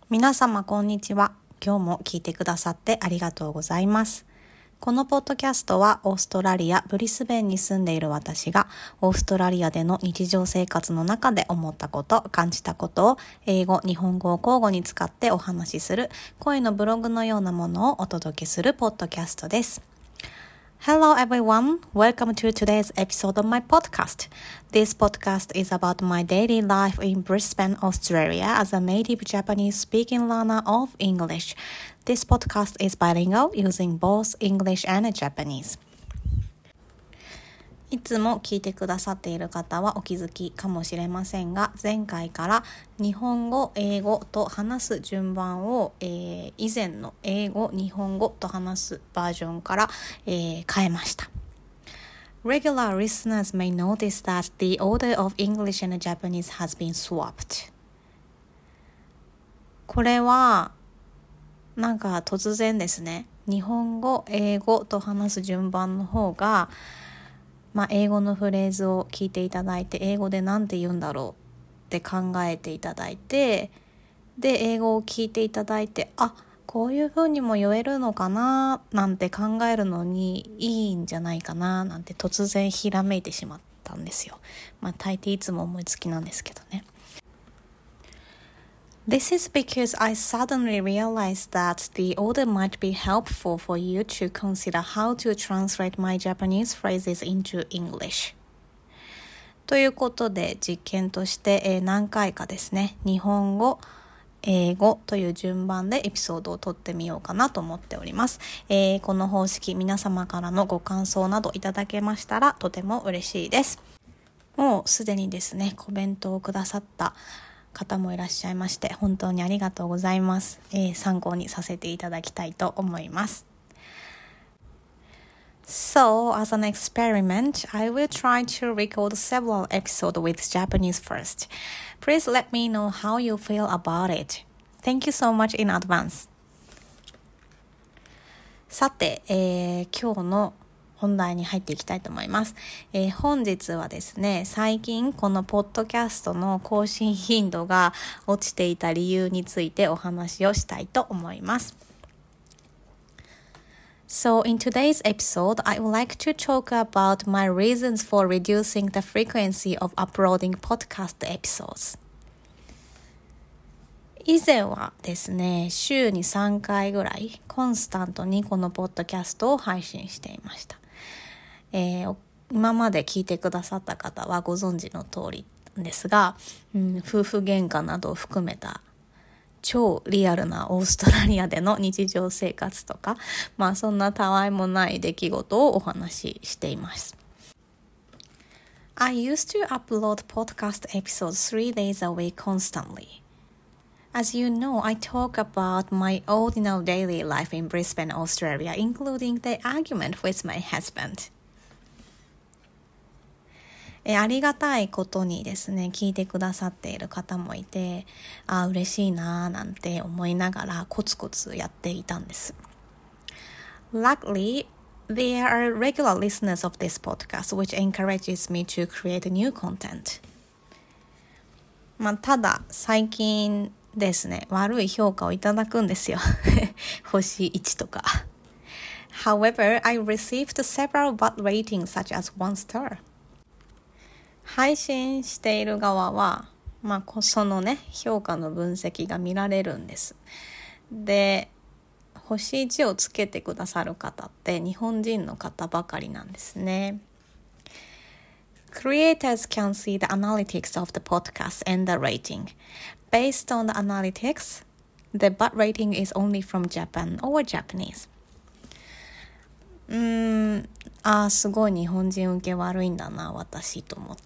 皆様こんにちは。今日も聞いてくださってありがとうございます。このポッドキャストはオーストラリア・ブリスベンに住んでいる私がオーストラリアでの日常生活の中で思ったこと、感じたことを英語、日本語を交互に使ってお話しする声のブログのようなものをお届けするポッドキャストです。Hello everyone, welcome to today's episode of my podcast. This podcast is about my daily life in Brisbane, Australia as a native Japanese speaking learner of English. This podcast is bilingual using both English and Japanese. いつも聞いてくださっている方はお気づきかもしれませんが、前回から日本語、英語と話す順番を、以前の英語、日本語と話すバージョンから、変えました。Regular listeners may notice that the order of English and Japanese has been swapped. これはなんか突然ですね。日本語、英語と話す順番の方が英語のフレーズを聞いていただいて、英語で何て言うんだろうって考えていただいて、で、英語を聞いていただいて、こういう風にも言えるのかななんて考えるのにいいんじゃないかななんて突然ひらめいてしまったんですよ。大抵いつも思いつきなんですけどね。This is because I suddenly realized that the order might be helpful for you to consider how to translate my Japanese phrases into English. ということで実験として何回かですね、日本語、英語という順番でエピソードを撮ってみようかなと思っております。この方式、皆様からのご感想などいただけましたらとても嬉しいです。もうすでにですね、コメントをくださった方もいらっしゃいまして本当にありがとうございます。参考にさせていただきたいと思います。So, as an experiment, I will try to record several episodes with Japanese first. Please let me know how you feel about it. Thank you so much in advance. さて、今日の本題に入っていきたいと思います。本日はですね、最近このポッドキャストの更新頻度が落ちていた理由についてお話をしたいと思います。So in today's episode, I would like to talk about my reasons for reducing the frequency of uploading podcast episodes. 以前はですね、週に3回ぐらいコンスタントにこのポッドキャストを配信していました。今まで聞いてくださった方はご存知の通りですが、夫婦喧嘩などを含めた超リアルなオーストラリアでの日常生活とか、そんなたわいもない出来事をお話ししています。I used to upload podcast episodes 3 days a week constantly.As you know, I talk about my ordinary daily life in Brisbane, Australia, including the argument with my husband. ありがたいことにですね、聞いてくださっている方もいて、嬉しいななんて思いながらコツコツやっていたんです。Luckily, there are regular listeners of this podcast, which encourages me to create new content. ただ、最近ですね、悪い評価をいただくんですよ。星1とか。However, I received several bad ratings such as 1 star. 配信している側は、そのね、評価の分析が見られるんです。で、星1をつけてくださる方って日本人の方ばかりなんですね。Creators can see the analytics of the podcast and the rating.Based on the analytics, the bad rating is only from Japan or Japanese. すごい日本人受け悪いんだな、私と思って、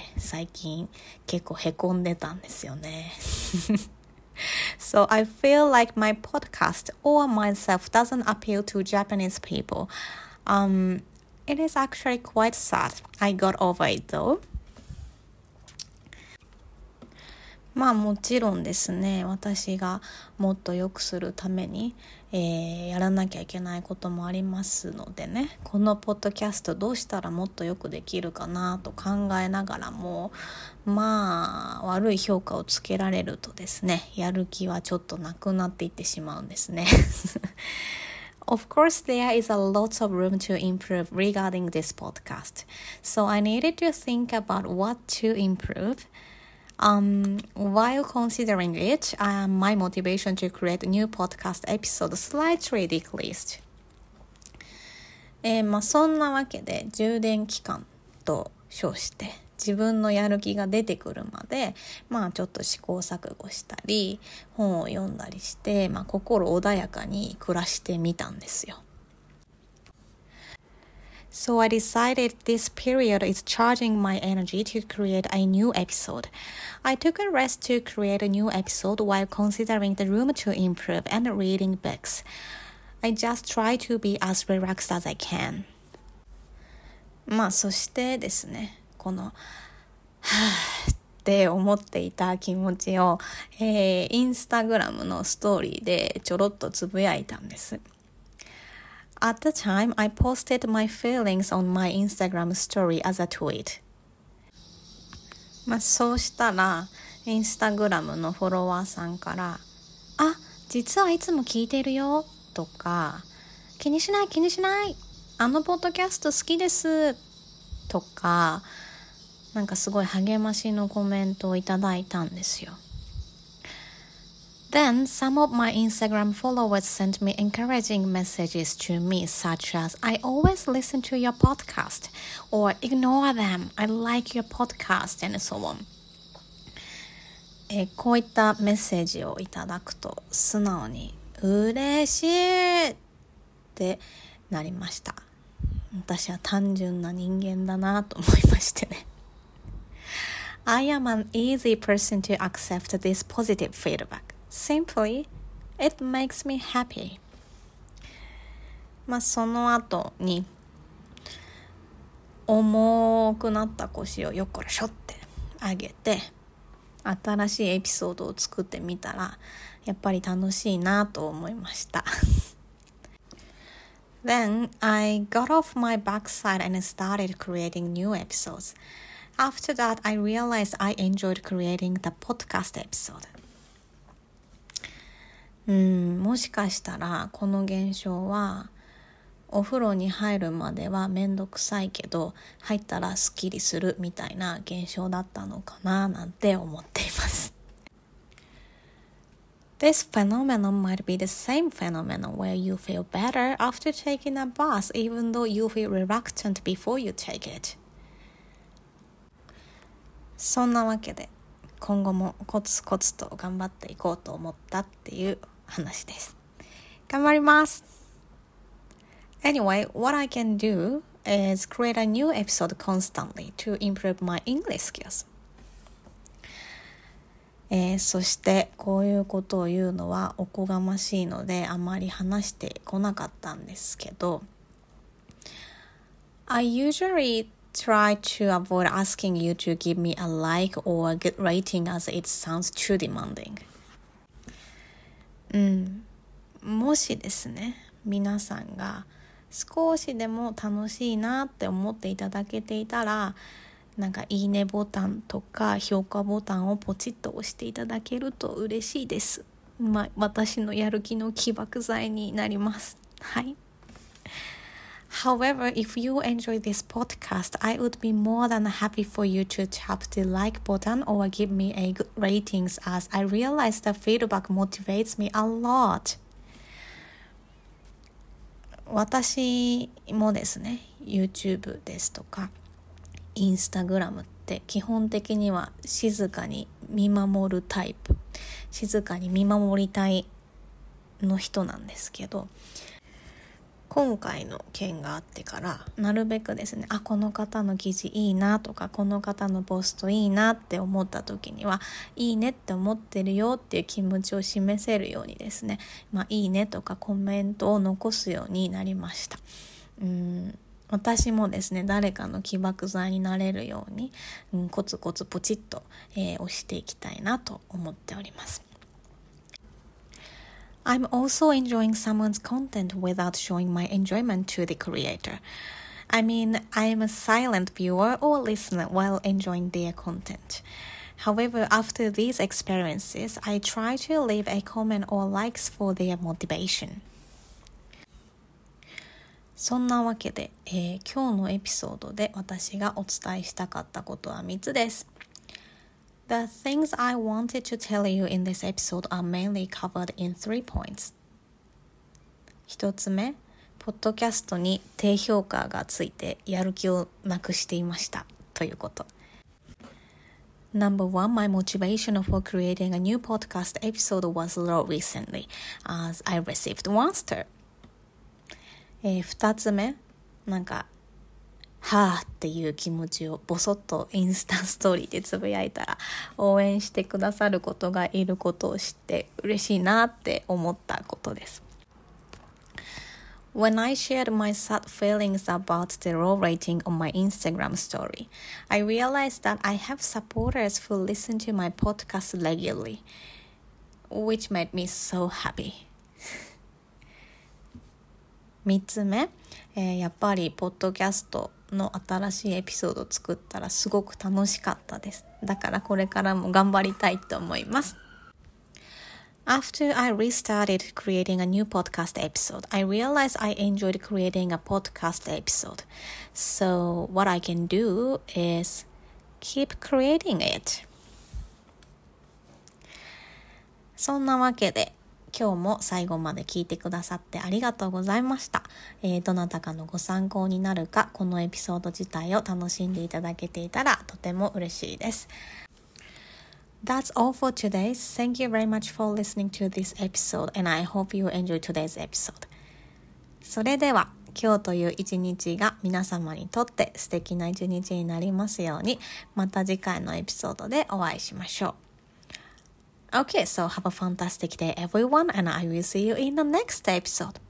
最近結構へこんでたんですよね。So I feel like my podcast or myself doesn't appeal to Japanese people. It is actually quite sad. I got over it though. もちろんですね、私がもっと良くするために、やらなきゃいけないこともありますのでね、このポッドキャストどうしたらもっとよくできるかなと考えながらも、悪い評価をつけられるとですね、やる気はちょっとなくなっていってしまうんですね。Of course, there is a lot of room to improve regarding this podcast. So I needed to think about what to improve.While considering it, my motivation to create a new podcast episode slightly decreased. そんなわけで充電期間と称して自分のやる気が出てくるまでちょっと試行錯誤したり本を読んだりして、心穏やかに暮らしてみたんですよ。So I decided this period is charging my energy to create a new episode. I took a rest to create a new episode while considering the room to improve and reading books. I just try to be as relaxed as I can. そしてですね、このって思っていた気持ちを、インスタグラムのストーリーでちょろっとつぶやいたんです。At the time, I posted my feelings on my Instagram story as a tweet. そうしたら、インスタグラムのフォロワーさんから、実はいつも聞いてるよ、とか、気にしない、あのポッドキャスト好きです、とか、すごい励ましのコメントをいただいたんですよ。Then, some of my Instagram followers sent me encouraging messages to me, such as, I always listen to your podcast, or ignore them, I like your podcast, and so on. こういったメッセージをいただくと、素直に、嬉しいってなりました。私は単純な人間だなと思いましてね。I am an easy person to accept this positive feedback.Simply, it makes me happy. その後に重くなった腰をよっこらしょって上げて新しいエピソードを作ってみたらやっぱり楽しいなと思いました。Then I got off my backside and started creating new episodes.After that, I realized I enjoyed creating the podcast episode.もしかしたらこの現象はお風呂に入るまではめんどくさいけど入ったらスッキリするみたいな現象だったのかななんて思っています。This phenomenon might be the same phenomenon where you feel better after taking a bath even though you feel reluctant before you take it. そんなわけで今後もコツコツと頑張っていこうと思ったっていう話です。頑張ります。Anyway, what I can do is create a new episode constantly to improve my English skills. そしてこういうことを言うのはおこがましいのであまり話してこなかったんですけど、I usually try to avoid asking you to give me a like or a good rating as it sounds too demanding. もしですね、皆さんが少しでも楽しいなって思っていただけていたら、いいねボタンとか評価ボタンをポチッと押していただけると嬉しいです。私のやる気の起爆剤になります。はい。However, if you enjoy this podcast, I would be more than happy for you to tap the like button or give me a good ratings as I realize the feedback motivates me a lot. 私もですね、YouTube ですとか、Instagram って基本的には静かに見守るタイプ、静かに見守りたいの人なんですけど、今回の件があってからなるべくですね、この方の記事いいなとかこの方のポストいいなって思った時にはいいねって思ってるよっていう気持ちを示せるようにですね、いいねとかコメントを残すようになりました。 私もですね、誰かの起爆剤になれるように、コツコツポチッと、押していきたいなと思っております。I'm also enjoying someone's content without showing my enjoyment to the creator. I mean, I'm a silent viewer or listener while enjoying their content. However, after these experiences, I try to leave a comment or likes for their motivation. そんなわけで、今日のエピソードで私がお伝えしたかったことは3つです。The things I wanted to tell you in this episode are mainly covered in 3 points. 1つ目、ポッドキャストに低評価がついてやる気をなくしていましたということ。Number 1, my motivation for creating a new podcast episode was low recently, as I received one star. 2つ目、はぁっていう気持ちをボソッとインスタストーリーでつぶやいたら応援してくださることがいることを知って嬉しいなって思ったことです。When I shared my sad feelings about the low rating on my Instagram story, I realized that I have supporters who listen to my podcast regularly, which made me so happy. 3つ目、やっぱりポッドキャストの新しいエピソードを作ったらすごく楽しかったです。だからこれからも頑張りたいと思います。After I restarted creating a new podcast episode, I realized I enjoyed creating a podcast episode. So what I can do is keep creating it. そんなわけで今日も最後まで聞いてくださってありがとうございました。どなたかのご参考になるか、このエピソード自体を楽しんでいただけていたらとても嬉しいです。That's all for today. Thank you very much for listening to this episode and I hope you enjoyed today's episode. それでは今日という一日が皆様にとって素敵な一日になりますように、また次回のエピソードでお会いしましょう。Okay, so have a fantastic day everyone and I will see you in the next episode.